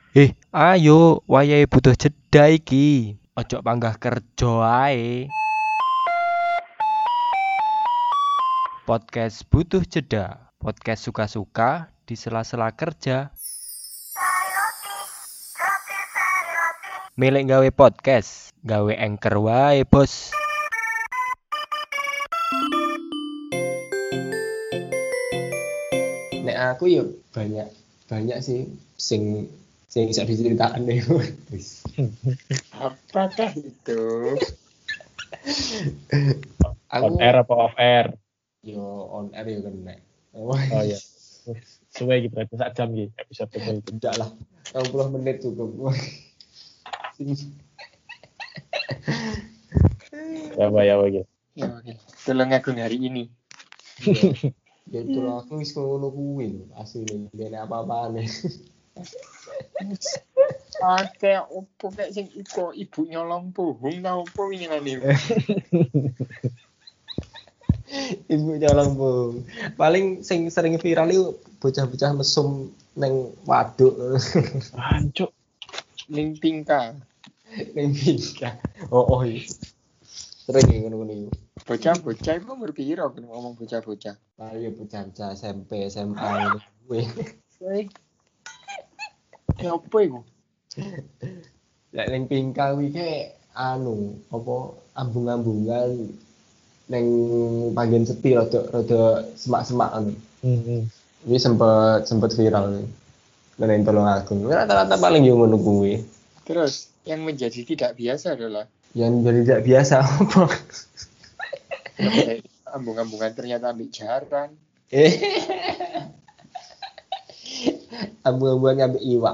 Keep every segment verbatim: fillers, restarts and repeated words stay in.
Eh, ayo, wayahe butuh jeda iki. Ojo panggah kerja ae. Podcast butuh jeda. Podcast suka-suka di sela-sela kerja. Milih gawe podcast, gawe anchor wae, Bos. Nek aku ya banyak banyak sih sing sing bisa diceritakan deh. Apakah itu? Aku On air apa off air? yo on air ya kena. Oh iya. Suwe gitu, berarti sak jam gitu episode itu. Tidak lah, enam puluh menit cukup. Ya apa ya apa gitu. Ya oke. Tolong aku hari ini. Ya itu lah, aku wis ngono kuwi lho, asline ngene apa-apane. Oke, opo kayak sing iko ibu nyolong pohon tau opo winginane. Ibu nyolong bu. Paling sing sering viral itu bocah-bocah mesum neng waduk. Hancuk. Ning tingkah. Neng bingka. Oh oh iya. Sering ya ngono-ngono iku. Bocah-bocah itu umur piro aku ngomong bocah-bocah. Paling ya bocah-bocah S M P, S M A ngono kuwi. Baik. Ya opo iku? Lek ning bingka kuwi ke anu, apa ambung-ambungan neng panggen sepi rada rada semak-semak anu. Heeh. Ini sempet sempet viral nih. Neng tolong aku. Rata-rata paling yo ngono kuwi. Terus yang menjadi tidak biasa adalah Yang jadi tidak biasa apa? ambung-ambungan ternyata ambil jaran. Eh. Ambung-ambungan ngambil iwak.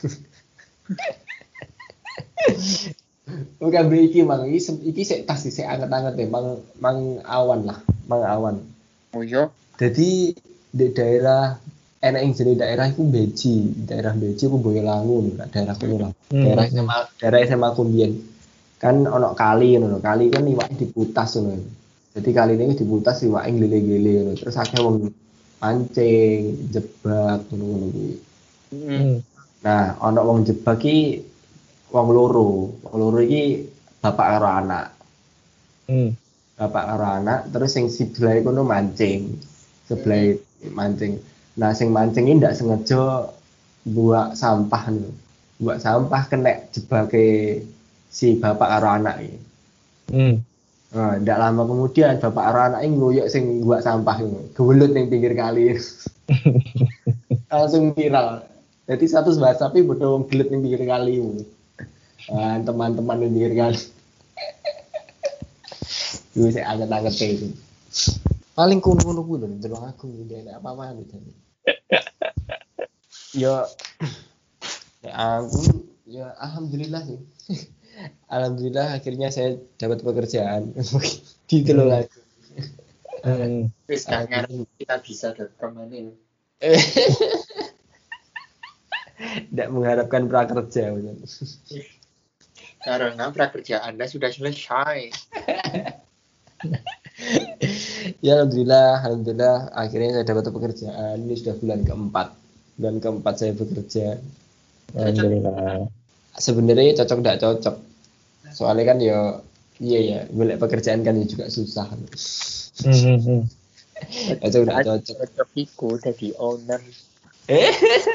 Bukan beli iki mang iki sem- iki sik tas sik anget-anget deh mang mang awan lah, mang awan. Oh iya, Jadi di daerah enak yang jadi daerah itu Beji, daerah Beji ku Boyolangu, nah, daerah kuno lah. Hmm. Daerah S M A, daerah S M A Kumbien. Kan ono kali ngono, kali kan iwak diputas ngono. Jadi kali ini diputas iwak nglele-nglele ngono. Terus akeh wong mancing, jebak ngono-ngono kuwi. heeh. Hmm. Nah, ono wong jebak ki wong loro. Wong loro iki bapak karo anak. Hmm. Bapak karo anak, terus sing sebelah kono mancing. Sebelah mancing. Nah, sing mancing ini ndak sengaja buat sampah nih. Buat sampah kena jebake si bapak karo anak iki. Hmm. Nah, ndak lama kemudian bapak karo anak ini ngoyok sing buat sampah ini. Gewelut ning pinggir kali. Langsung viral. Jadi satu bahas sapi bodoh wong gelut ning pinggir kali. Nah, teman-teman ning pinggir kali. Gue saya anget-anget itu. Paling kuno-kuno kuwi lho, delok aku iki enak apa-apa gitu. Ya, ya aku ya alhamdulillah sih. Alhamdulillah akhirnya saya dapat pekerjaan. Gitu loh aku. Hmm. Wis gak ngarep kita bisa datang mana. Tidak mengharapkan prakerja. Betul. Karena prakerja Anda sudah selesai. Ya alhamdulillah, alhamdulillah akhirnya saya dapat pekerjaan. Ini sudah bulan keempat. Bulan keempat saya bekerja. Alhamdulillah. Sebenarnya cocok tidak cocok. Soalnya kan ya iya ya, golek pekerjaan kan ya juga susah. Hmm. Hmm. Cocok tidak cocok. Cocok iku jadi owner. Eh.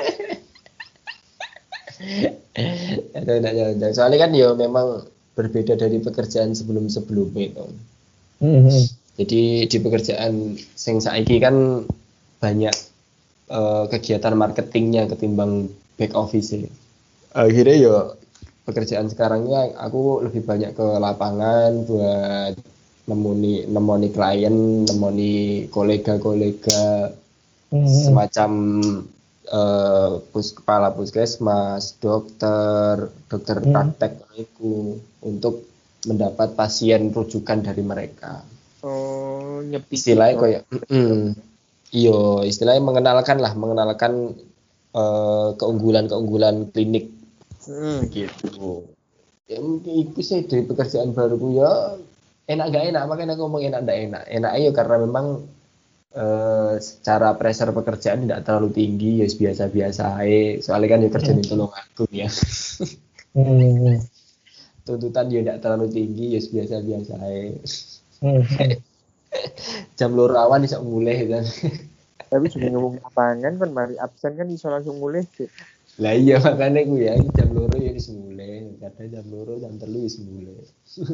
Cocok tidak cocok. Soalnya kan ya memang berbeda dari pekerjaan sebelum-sebelumnya itu. Hmm. Jadi di pekerjaan sing saiki kan banyak eh, kegiatan marketingnya ketimbang back office. Akhirnya ya pekerjaan sekarangnya aku lebih banyak ke lapangan buat nemoni nemoni klien, nemoni kolega-kolega Hmm. semacam eh, pus kepala puskesmas, dokter, dokter Hmm. praktek itu untuk mendapat pasien rujukan dari mereka. Oh, nyepi. Istilahnya kayak mm, iyo istilahnya mengenalkan lah mengenalkan eh, keunggulan-keunggulan klinik Hmm. gitu. Ya itu sih dari pekerjaan baruku ya enak gak enak makanya aku ngomong enak gak enak enak aja karena memang eh, secara pressure pekerjaan tidak terlalu tinggi, ya biasa-biasa aja. Soalnya kan ya kerjaan itu tolong aku ya. Hmm. Tuntutan ya tidak terlalu tinggi, ya biasa-biasa aja. Hmm. Jam loro awan bisa mulai kan. Tapi juga ngomong lapangan kan mari absen kan iso langsung mulai sih. Lah iya makanya gue ya jam loro ya wis mulai, kadang jam loro jam telu wis mulai.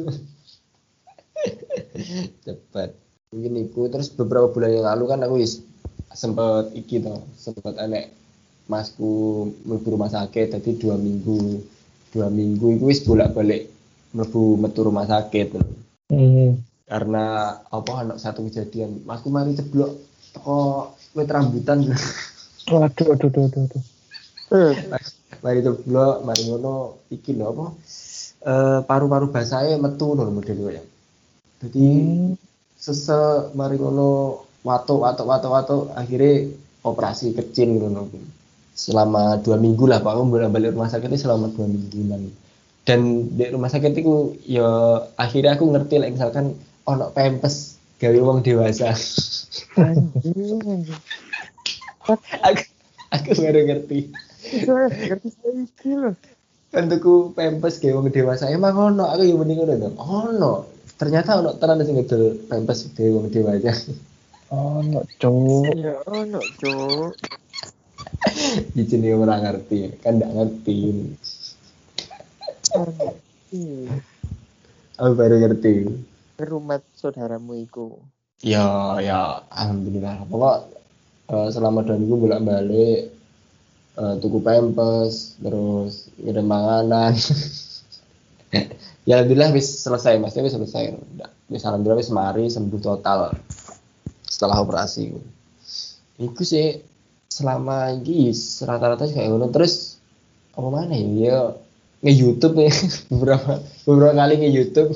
Cepat. Mungkin iku terus beberapa bulan yang lalu kan aku wis sempet iki toh, sempet anek masku mlebu rumah sakit tadi dua minggu. Dua minggu itu wis bolak-balik mlebu metu rumah sakit. Hmm. Karena apa anak satu kejadian, masku mari ceblok teko wit rambutan. Waduh, aduh, aduh, aduh, aduh. Mari ceblok, mari ngono iki lho apa? Eh paru-paru basahe metu lho model ya. Jadi Hmm. sese mari ngono watuk watuk watuk watuk akhirnya operasi kecil ngono. Selama dua minggu lah Pak, aku bolak-balik rumah sakit itu selama dua mingguan. Dan di rumah sakit itu ya akhirnya aku ngerti lah misalkan ono pempes gawe wong dewasa. Anjing, anjing. aku aku baru ngerti. Itu ngerti saya iki loh. Kan tuku pempes gawe wong dewasa emang ono, aku yo mending ngono to. Ono. Ternyata ono tenan sing ngedol pempes gawe wong dewasa. Oh, no, cowok. Ya ono, Cuk. Jadi orang ngerti, kan nggak ngerti. Anjing. Aku baru ngerti. Rumah saudaramu iku. Ya, ya, alhamdulillah. Pokok eh, selama dua minggu bolak-balik eh, tuku pempes, terus ngirim panganan. Ya alhamdulillah wis selesai, maksudnya wis selesai. Wis alhamdulillah wis mari sembuh total setelah operasi. Iku sih selama ini rata-rata kayak ngono terus apa mana ya? Ya nge-YouTube ya beberapa beberapa kali nge-YouTube.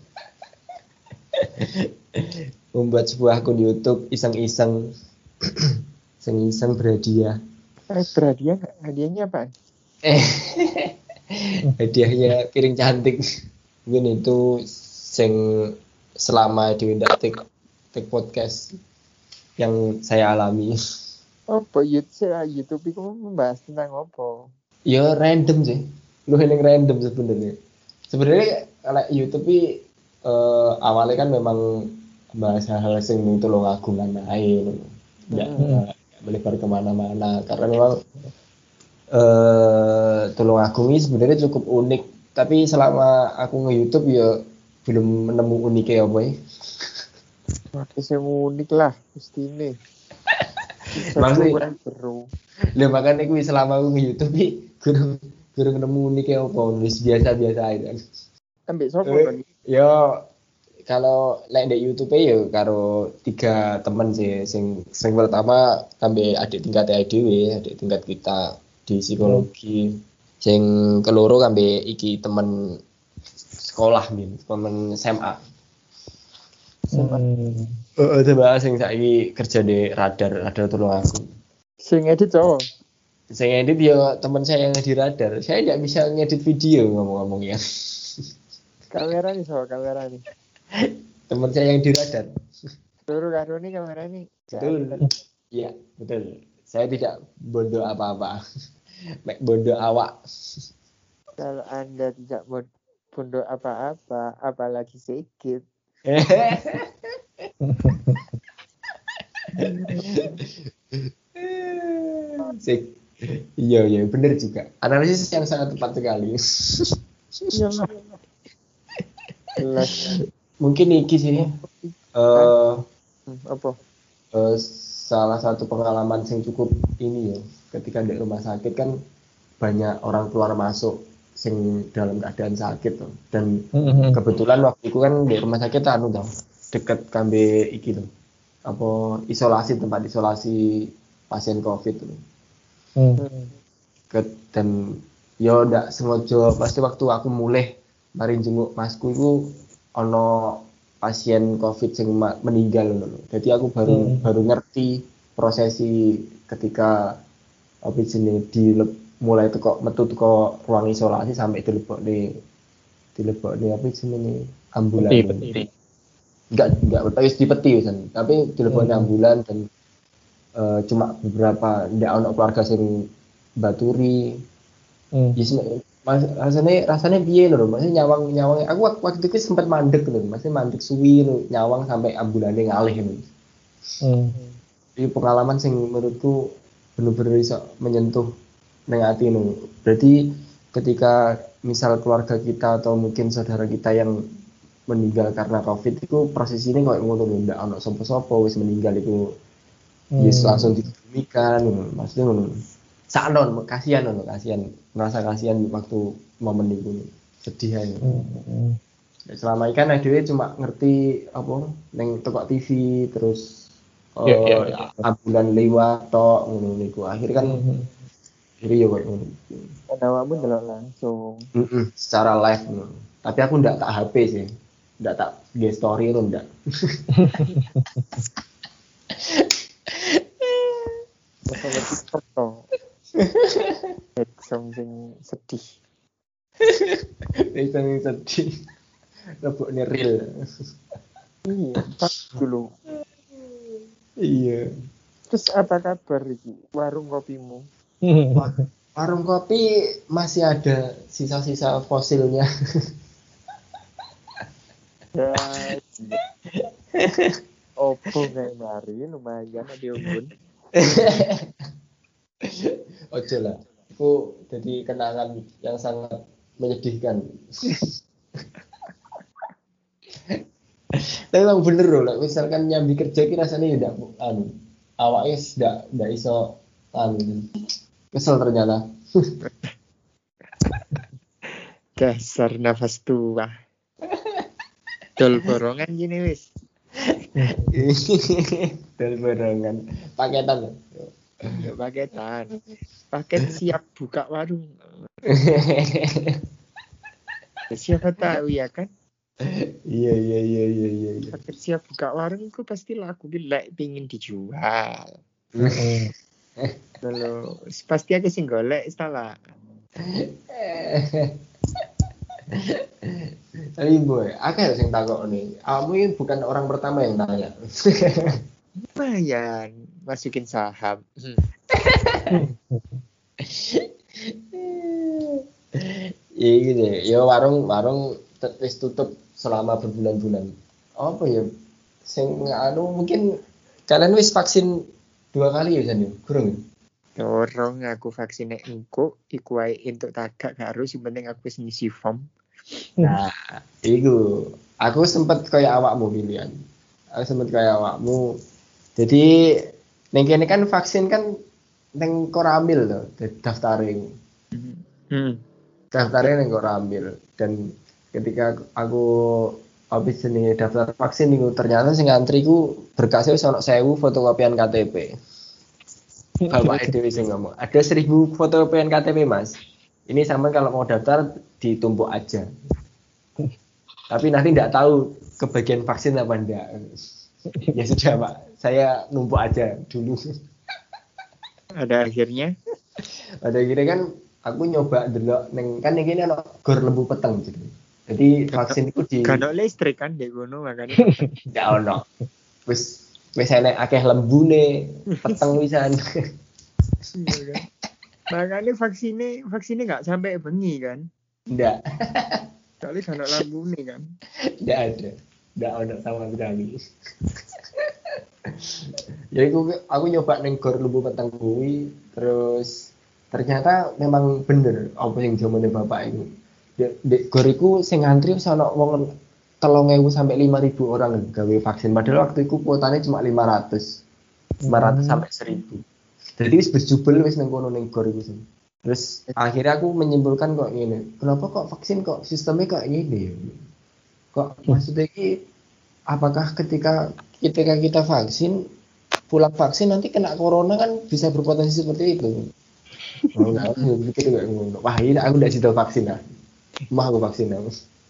Membuat sebuah akun YouTube iseng-iseng iseng-iseng berhadiah. Eh, berhadiah nggak? Hadiahnya apa? Eh, hadiahnya piring cantik. Mungkin itu sing selama di take, take podcast yang saya alami. Apa YouTube YouTube itu membahas tentang apa? Ya random sih, lu yang random sebenarnya. Sebenarnya kalau YouTube ini eh, awalnya kan memang bahas hal-hal sing itu lo ngagungan air, nggak Hmm. melebar kemana-mana. Karena memang eh Tulung Agung ini sebenarnya cukup unik. Tapi selama aku nge-YouTube ya belum menemu uniknya apa ya. Makin yang unik lah, pasti ini. Maksudnya- kurang seru. Lah makanya aku selama aku nge-YouTube ini kurang kurang nemu uniknya apa, nulis biasa-biasa aja. Ambil sopo Eh, kan? Yo kalau like di YouTube ya karo tiga teman sih, sing sing pertama sampai adik tingkat I D W, adik tingkat kita di psikologi. Sing keloro sampai iki temen sekolah min, temen S M A. Hmm. Heeh, coba sing saiki kerja di radar, radar Tulung Agung. Sing edit cowok. Sing edit ya teman saya yang di radar. Saya tidak bisa ngedit video ngomong-ngomongnya. Kamera nih soal kamera nih. Teman saya yang di radar. Seluruh karo nih kamera nih. Betul. Iya, betul. Saya tidak bodoh apa-apa. Mek bodoh awak. Kalau Anda tidak mau pondok apa-apa, apalagi sedikit. Sik. Iya, iya, benar juga. Analisis yang sangat tepat sekali. Iya lah. Jelas. Mungkin iki sih eh Hmm, apa? eh, salah satu pengalaman yang cukup ini ya, ketika di rumah sakit kan banyak orang keluar masuk sing dalam keadaan sakit tuh. Dan Hmm. kebetulan waktu itu kan di rumah sakit anu tau, deket kambe iki tuh. Apa isolasi, tempat isolasi pasien Covid tuh. Hmm. Hmm. Ket, dan yo ndak sengaja pasti waktu aku mulai mari jenguk masku itu ono pasien Covid sing ma- meninggal ngono. Jadi aku baru Hmm. baru ngerti prosesi ketika apa jenenge di mulai teko metu teko ruang isolasi sampai dilebokne dilebokne apa jenenge ambulan. Peti, peti. Enggak enggak wis di peti wisan, tapi dilebokne Hmm. ambulan dan eh, cuma beberapa ndak ono keluarga sing baturi. Hmm. Ya sen- mas, rasanya rasanya piye lho, maksudnya nyawang nyawang aku wak- waktu itu sempat mandek lho, maksudnya mandek suwi lho, nyawang sampai ambulane ngalih lho. Hmm. Ini pengalaman sing menurutku bener-bener bisa menyentuh neng ati lho. Berarti ketika misal keluarga kita atau mungkin saudara kita yang meninggal karena covid itu proses ini kayak ngono lho, ndak ono sapa-sapa wis meninggal itu yes Hmm. langsung dikebumikan ngono. Maksudnya ngono. Sakno kasihan ngono, kasihan. Merasa kasihan waktu momen itu. Sedih aja. Hmm. Selama ini kan dhewe cuma ngerti apa neng toko T V terus Ya, ya, eh ya. ambulan lewat tok ngono niku. Akhirnya kan Hmm. akhirnya ya kayak ngono. Kan awakmu delok langsung. Heeh, secara live ngono. Tapi aku ndak tak H P sih. Ndak tak nge story itu ndak. Masalah TikTok to. Something sedih. Itu yang sedih. Lebokne real. Iya, pas dulu. Iya. Terus apa kabar iki? Warung kopimu? Wa- Warung kopi masih ada sisa-sisa fosilnya. Ya. Opo kayak mari lumayan ada unggun. Ojo lah. Itu jadi kenangan yang sangat menyedihkan. Tapi memang bener loh, like, misalkan nyambi kerja ki rasanya ya ndak anu. Awake ndak ndak iso anu. Kesel ternyata. Dasar nafas tua. Dol borongan gini wis. Dan barengan paketan. Enggak paketan. Paket siap buka warung. Siapa tahu ya kan? Iya iya iya iya iya. iya. Paket siap buka warung itu pasti laku gila pingin dijual. Hmm. Kalau pasti aku sing golek salah. Tapi boy, aku harus yang takut nih. Kamu ini bukan orang pertama yang tanya. Lumayan masukin saham. Iya gitu ya. Ya warung warung tet- wis tutup selama berbulan-bulan. Apa ya? Sing anu mungkin kalian wis vaksin dua kali ya San? Kurang ya? Dorong aku vaksinnya engko iku wae entuk tagak gak harus yang penting aku wis ngisi form. Nah, itu aku sempet kayak awakmu pilihan. Aku sempet kayak awakmu. Jadi neng kene kan vaksin kan neng Koramil loh, daftarin. Hmm. Daftarnya neng Koramil dan ketika aku habis ini daftar vaksin itu ternyata sing ngantri ku berkasnya wis ono sewu fotokopian K T P. Bapak Dewi sing ngomong, ada seribu fotokopian K T P mas. Ini sama kalau mau daftar ditumpuk aja. Tapi nanti tidak tahu kebagian vaksin apa enggak. Ya sudah pak, saya numpuk aja dulu. Ada akhirnya. Pada akhirnya kan aku nyoba dulu, neng kan ini ada gor lembu peteng gitu. Jadi vaksin itu di Kan listrik kan dek ngono makanya. ya ono. Wis wis enek akeh lembune, peteng wisan. Iya kan. Makanya vaksinnya vaksinnya nggak sampai bengi kan. Ndak, Soalnya kan ada lampu nih kan. ndak ada. Ndak ono sama sekali. Jadi aku, aku nyoba neng gor lembu peteng kuwi, terus ternyata memang bener apa yang jamane bapak itu. Di, di gor iku sing ngantri wis ono wong telung ewu sampai lima ribu orang gawe vaksin. Padahal waktu itu kuotanya cuma lima ratus. lima ratus sampai seribu. Jadi wis berjubel wis nang kono ning gor iku sih. Terus akhirnya aku menyimpulkan kok ngene. Kenapa kok vaksin kok sistemnya kok gini? Kok maksudnya iki apakah ketika ketika kita vaksin pulang vaksin nanti kena corona kan bisa berpotensi seperti itu. Oh, enggak, aku pikir kayak ngono. Wah, ini aku udah situ vaksin lah. Mah aku vaksin aku.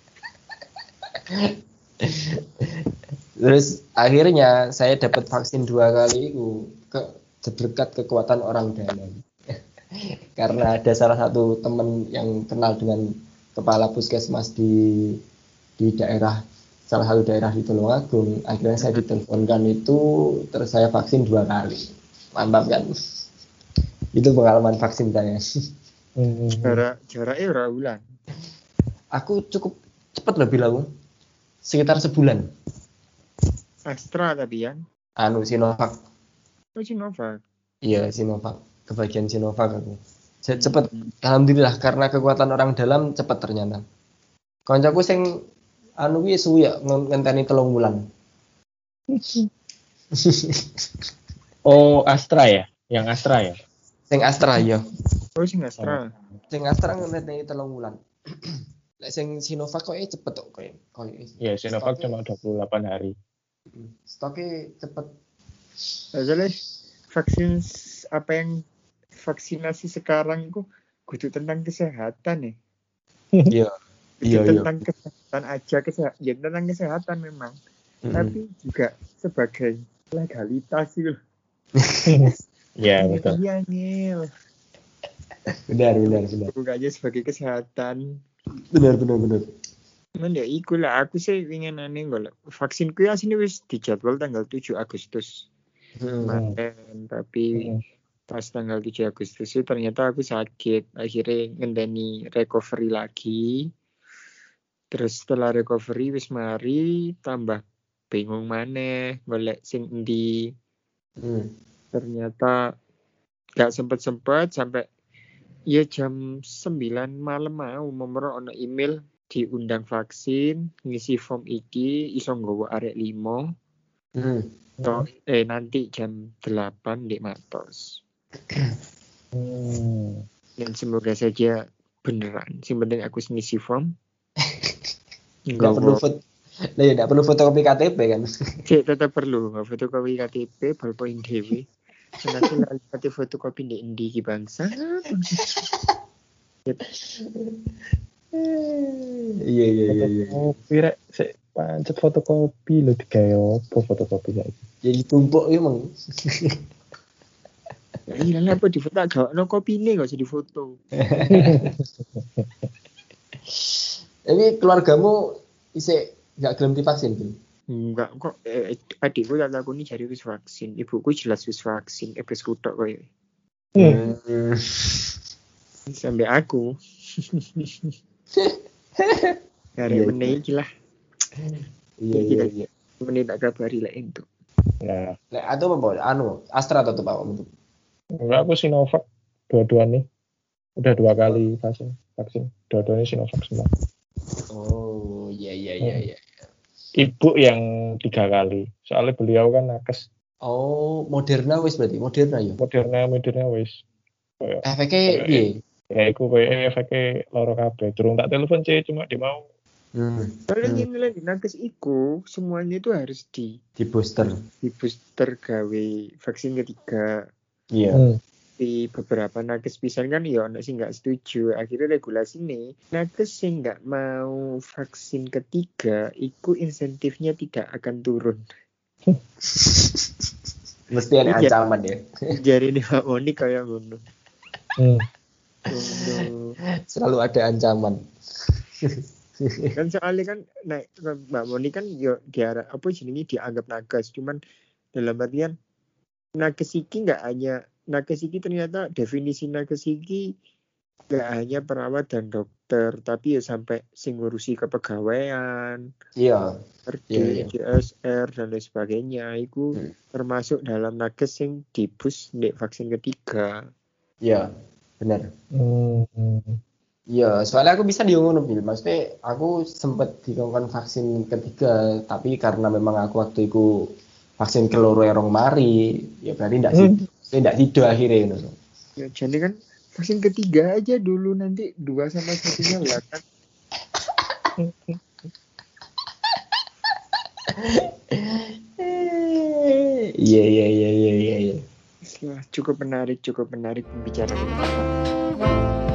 Terus akhirnya saya dapat vaksin dua kali itu ke berkat kekuatan orang dalam. Karena ada salah satu teman yang kenal dengan kepala puskesmas di di daerah salah satu daerah di Tulungagung. Akhirnya saya diteleponkan itu, terus saya vaksin dua kali. Mantap kan? Itu pengalaman vaksin saya. Hmm. Jarak jaraknya ora bulan. Aku cukup cepat loh bilang, sekitar sebulan. Astra tapi ya. Anu Sinovac, Oh Sinovac. iya Sinovac, kebagian Sinovac aku. Ce- Hmm. Cepet, alhamdulillah karena kekuatan orang dalam cepet ternyata. Koncoku sing anu kuwi suwi ya ngen- ngenteni telung wulan. Oh, Astra ya? Yang Astra ya? Sing Astra ya. Oh sing Astra. Sing Astra ngenteni telung wulan. Lek sing Sinovac kok cepet kok koyo koyo. Ya, Sinovac cuma dua puluh delapan hari. Stoknya cepet. Soalnya vaksin s- apa yang vaksinasi sekarang itu kudu tentang kesehatan ya. Iya. Kudu Iya, iya. tentang kesehatan aja kesehatan. Ya tentang kesehatan memang. Mm-mm. Tapi juga sebagai legalitas gitu. Ya, betul. Iya nih. Benar, benar, benar. Bukannya sebagai kesehatan. Benar, benar, benar. Cuman ya iku lah aku sih ingin aneh golek vaksin ku asine wis dijadwal tanggal tujuh Agustus Hmm. kemarin tapi Hmm. pas tanggal tujuh Agustus itu ternyata aku sakit akhirnya ngenteni recovery lagi terus setelah recovery wis mari tambah bingung maneh golek sing endi Hmm. ternyata gak sempet-sempet sampai ya jam sembilan malam mau memero ono email diundang vaksin ngisi form iki iso nggowo arek lima Hmm. to, eh nanti jam delapan di Matos Hmm. dan semoga saja beneran sing penting aku ngisi form Nggak perlu foto, nah, ya, nggak perlu fotokopi K T P kan? cek tetap perlu nggak fotokopi K T P ballpoint dewe nanti lali kate fotokopi di endi ki bangsa Iya, iya, iya, iya. Fotokopi rek, sik pancet fotokopi lho digawe opo fotokopi saiki. Jadi tumpuk emang. ya iya lah apa di foto agak no kopi ini nggak usah di foto Tapi keluargamu isi nggak gelem divaksin tuh? enggak kok eh, adikku tak aku ini jadi wis vaksin ibuku jelas wis vaksin eh wis kutok koyo Hmm. sampai aku hari Iya, meneh iki lah Iya, iya, iya. meneh tak kabari lah itu Nah, Lek atau apa? Anu Astra atau apa? Untuk enggak aku Sinovac dua-duanya. Udah dua kali vaksin. Vaksin. Dua-duanya Sinovac semua. oh, iya, iya, iya, iya. Ibu yang tiga kali. Soalnya beliau kan nakes. Oh, Moderna wis berarti Moderna ya. Moderna, Moderna wis. Kayak, Efeknya piye? ya iku kayak efeknya loro kabeh. Durung tak telepon C cuma dia mau. Hmm. soalnya Hmm. ini lagi nakes iku semuanya itu harus di Di booster. di booster gawe vaksin ketiga Iya. Hmm. di beberapa nakes pisan kan ya ono sing nggak setuju akhirnya regulasi nih nakes sing nggak mau vaksin ketiga itu insentifnya tidak akan turun Mesti ada Iya. ancaman ya. jari nih Pak Moni kayak ngono Hmm. Ngono. Selalu ada ancaman. kan soalnya kan nah, Mbak Moni kan yo diarah apa jenenge dianggap nakes cuman dalam artian nakes iki nggak hanya nakes iki ternyata definisi nakes iki nggak hanya perawat dan dokter tapi ya sampai sing ngurusi kepegawaian Iya. R D, Iya, iya. C S R dan lain sebagainya itu Hmm. termasuk dalam nakes yang dibus di vaksin ketiga Iya. Benar. Hmm. Iya, soalnya aku bisa di ngono Bil. Maksudnya aku sempet dikongkon vaksin ketiga, tapi karena memang aku waktu itu vaksin keloro erong mari, ya berarti ndak sih, Hmm. ndak tidur akhirnya ngono. ya, jadi kan vaksin ketiga aja dulu nanti dua sama satunya lah kan Iya, iya, iya, iya, iya, iya. cukup menarik cukup menarik pembicaraan ini